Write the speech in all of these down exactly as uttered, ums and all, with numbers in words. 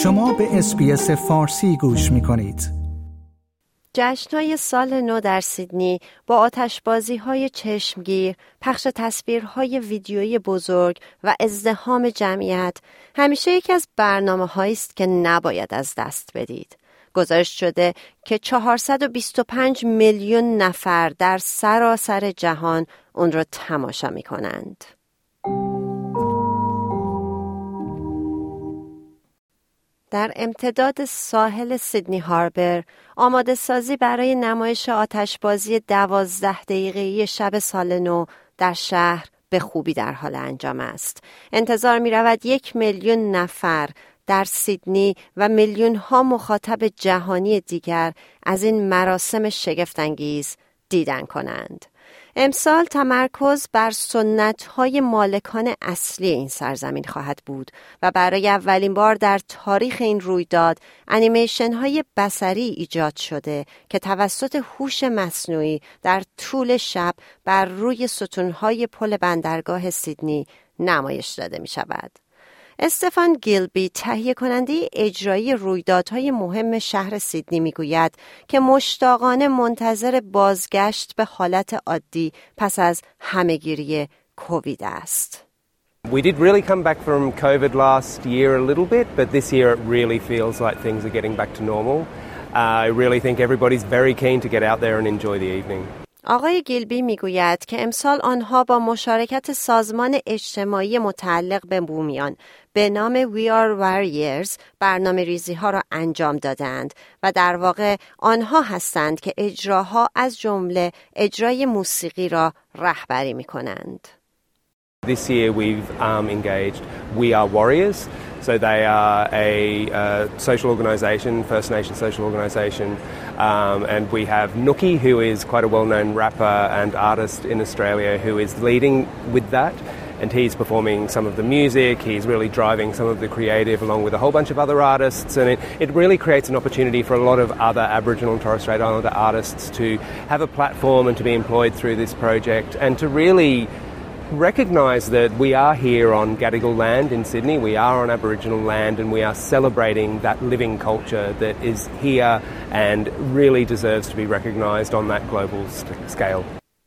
شما به اس‌بی‌اس فارسی گوش می‌کنید. جشن‌های سال نو در سیدنی با آتشبازی‌های چشمگیر، پخش تصویرهای ویدیویی بزرگ و ازدحام جمعیت همیشه یکی از برنامه‌هایی است که نباید از دست بدید. گزارش شده که چهارصد و بیست و پنج میلیون نفر در سراسر جهان اون را تماشا می‌کنند. در امتداد ساحل سیدنی هاربر، آماده سازی برای نمایش آتشبازی دوازده دقیقه‌ای شب سال نو در شهر به خوبی در حال انجام است. انتظار می رود یک میلیون نفر در سیدنی و میلیون ها مخاطب جهانی دیگر از این مراسم شگفت‌انگیز دیدن کنند. امسال تمرکز بر سنت‌های مالکان اصلی این سرزمین خواهد بود و برای اولین بار در تاریخ این رویداد انیمیشن‌های بصری ایجاد شده که توسط هوش مصنوعی در طول شب بر روی ستون‌های پل بندرگاه سیدنی نمایش داده می‌شود. استفان گیلبی تهیه کننده اجرایی رویدادهای مهم شهر سیدنی میگوید که مشتاقانه منتظر بازگشت به حالت عادی پس از همه‌گیری کووید است. We did really come back from COVID last year a little bit, but this year it really feels like things are getting back to normal. Uh, I really think everybody's very keen to get out there and enjoy the evening. آقای گیلبی میگوید که امسال آنها با مشارکت سازمان اجتماعی متعلق به بومیان به نام We Are Warriors برنامه ریزی ها را انجام دادند و در واقع آنها هستند که اجراها از جمله اجرای موسیقی را رهبری می کنند. This year we've um, engaged We Are Warriors. So they are a uh, social organisation, First Nation social organisation, um, and we have Nookie, who is quite a well-known rapper and artist in Australia, who is leading with that, and he's performing some of the music, he's really driving some of the creative along with a whole bunch of other artists, and it, it really creates an opportunity for a lot of other Aboriginal and Torres Strait Islander artists to have a platform and to be employed through this project and to really recognise that we are here on Gadigal land in Sydney, we are on Aboriginal land, and we are celebrating that living culture that is here and really deserves to be recognised on that global scale.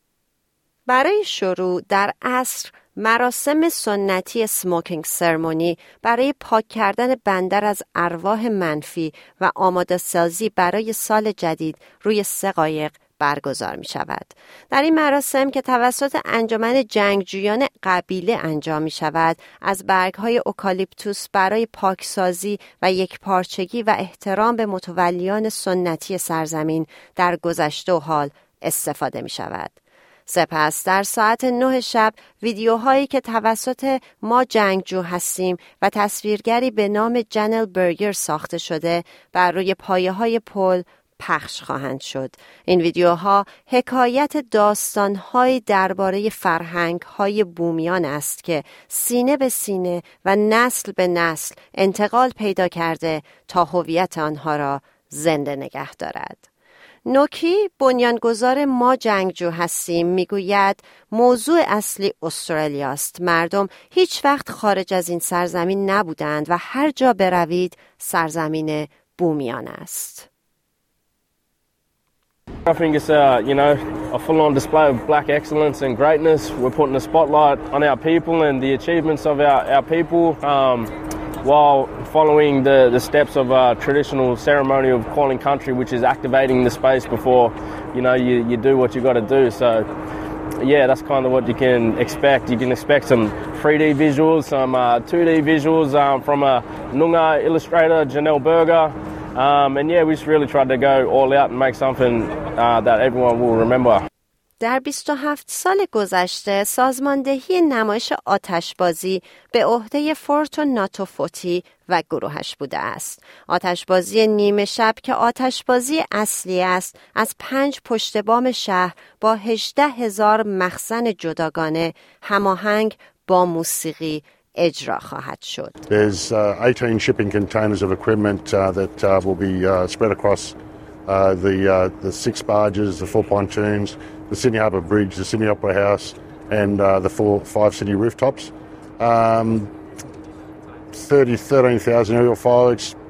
برای شروع در عصر مراسم سنتی سموکینگ سرمونی برای پاک کردن بندر از ارواح منفی و آماده سازی برای سال جدید روی سه قایق برگزار می شود. در این مراسم که توسط انجمن جنگجویان قبیله انجام می شود، از برگ‌های اوکالیپتوس برای پاکسازی و یکپارچگی و احترام به متولیان سنتی سرزمین در گذشته و حال استفاده می شود. سپس در ساعت نه شب ویدیوهایی که توسط ما جنگجو هستیم و تصویرگری به نام جنل برگر ساخته شده بر روی پایه‌های پل پخش خواهند شد. این ویدیوها حکایت داستان‌های درباره فرهنگ‌های بومیان است که سینه به سینه و نسل به نسل انتقال پیدا کرده تا هویت آنها را زنده نگه دارد. نوکی بنیانگذار ما جنگجو هستیم میگوید موضوع اصلی استرالیا است. مردم هیچ وقت خارج از این سرزمین نبودند و هر جا بروید سرزمین بومیان است. I think it's uh, you know, a full-on display of black excellence and greatness. We're putting a spotlight on our people and the achievements of our, our people um, while following the, the steps of a traditional ceremony of calling country, which is activating the space before, you know, you, you do what you got to do. So, yeah, that's kind of what you can expect. You can expect some three D visuals, some uh, two D visuals um, from a Noongar illustrator, Janelle Berger. Um, and yeah, we just really tried to go all out and make something uh, that everyone will remember. در بیست و هفت سال گذشته سازماندهی نمایش آتشبازی به عهده فورتو ناتوفوتی و گروهش بوده است. آتشبازی نیمه شب که آتشبازی اصلی است از پنج پشت بام شهر با هجده هزار مخزن جداگانه هماهنگ با موسیقی اجرا خواهد شد. There's uh, eighteen shipping containers of equipment uh, that uh, will be uh, spread across uh, the uh, the six barges, the four pontoons, the Sydney Harbour Bridge, the Sydney Opera House, and uh, the four five city rooftops. Um, thirty, thirteen thousand aerial fireworks,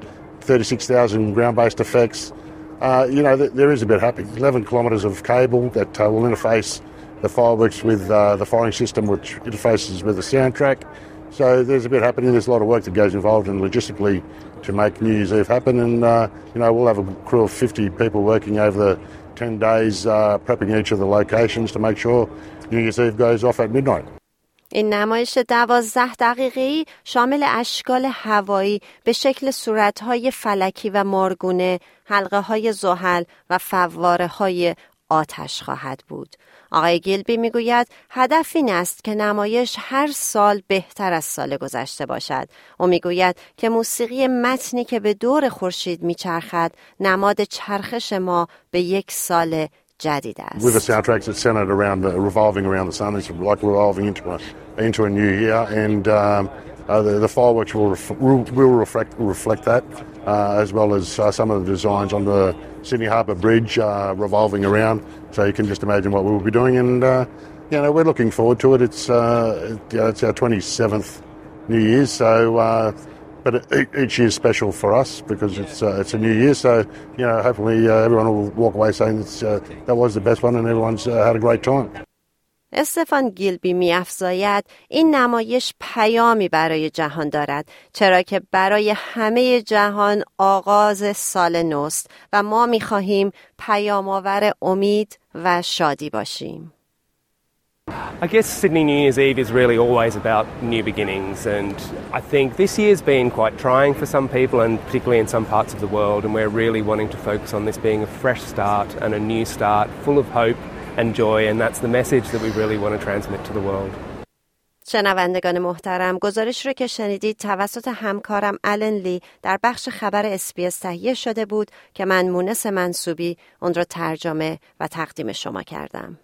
thirty-six thousand ground-based effects. Uh, you know, th- there is a bit happening. eleven kilometres of cable that uh, will interface the fireworks with uh, the firing system, which interfaces with the soundtrack. So there's a bit happening. There's a lot of work that goes involved in logistically to make New Year's Eve happen. And, uh, you know, we'll have a crew of fifty people working over the ten days, uh, prepping each of the locations to make sure New Year's Eve goes off at midnight. این نمایش دوازده دقیقه‌ای شامل اشکال هوایی به شکل صورت‌های فلکی و مارگونه، حلقه‌های زحل و فواره‌های آتش خواهد بود. آقای گیلبی میگوید هدف این است که نمایش هر سال بهتر از سال گذشته باشد. او میگوید که موسیقی متنی که به دور خورشید میچرخد نماد چرخش ما به یک سال جدید است. With the soundtracks that's centered around the revolving around the sun, it's like revolving into a into a new year, and um, uh, the, the fireworks will ref- will, will reflect reflect that, uh, as well as uh, some of the designs on the Sydney Harbour Bridge uh, revolving around. So you can just imagine what we'll be doing, and uh, you know, we're looking forward to it. It's uh, it, you know, it's our twenty-seventh New Year's, so. Uh, But each year is special for us because it's uh, it's a new year. So you know, hopefully uh, everyone will walk away saying it's, uh, that was the best one and everyone's uh, had a great time. استفان گیلبی می‌افزاید این نمایش پیامی برای جهان دارد، چرا که برای همه جهان آغاز سال نوست و ما می‌خواهیم پیام‌آور امید و شادی باشیم. I guess Sydney New Year's Eve is really always about new beginnings, and I think this year's been quite trying for some people, and particularly in some parts of the world, and we're really wanting to focus on this being a fresh start and a new start full of hope and joy, and that's the message that we really want to transmit to the world. شنوندگان محترم، گزارش رو که شنیدید توسط همکارم آلن لی در بخش خبر اس بی اس تهیه شده بود که من مونس منصوبی اون رو ترجمه و تقدیم شما کردم.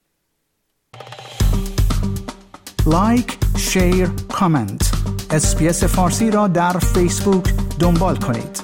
لایک، شیر، کامنت. اس بی اس فارسی را در فیسبوک دنبال کنید.